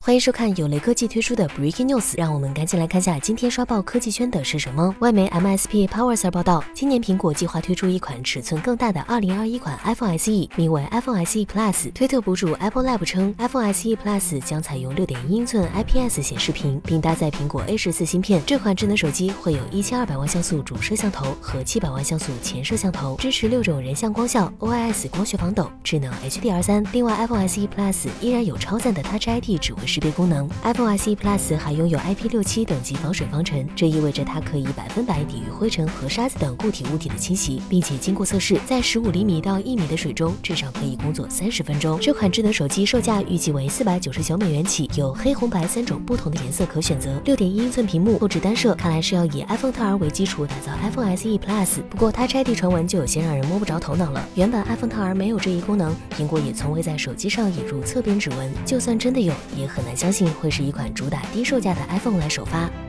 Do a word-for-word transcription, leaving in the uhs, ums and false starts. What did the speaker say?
欢迎收看有雷科技推出的 Breaking News， 让我们赶紧来看下今天刷爆科技圈的是什么。外媒 M S P Powers 报道，今年苹果计划推出一款尺寸更大的二零二一款 iPhone S E， 名为 iPhone S E Plus。推特博主 Apple Lab 称 ，iPhone S E Plus 将采用六点一英寸 I P S 显示屏，并搭载苹果 A 十四芯片。这款智能手机会有一千二百万像素主摄像头和七百万像素前摄像头，支持六种人像光效、O I S 光学防抖、智能 H D R 三。另外 ，iPhone S E Plus 依然有超赞的 Touch I D 指纹识别功能。iPhone S E Plus 还拥有 I P 六七 等级防水防尘，这意味着它可以百分百抵御灰尘和沙子等固体物体的侵袭，并且经过测试，在十五厘米到一米的水中至少可以工作三十分钟。这款智能手机售价预计为四百九十九美元起，有黑、红、白三种不同的颜色可选择。六点一英寸屏幕，后置单摄，看来是要以 iPhone XR 为基础打造 iPhone S E Plus。不过 Touch I D 传闻就有些让人摸不着头脑了。原本 iPhone XR 没有这一功能，苹果也从未在手机上引入侧边指纹，就算真的有，也很难相信会是一款主打低售价的 iPhone 来首发。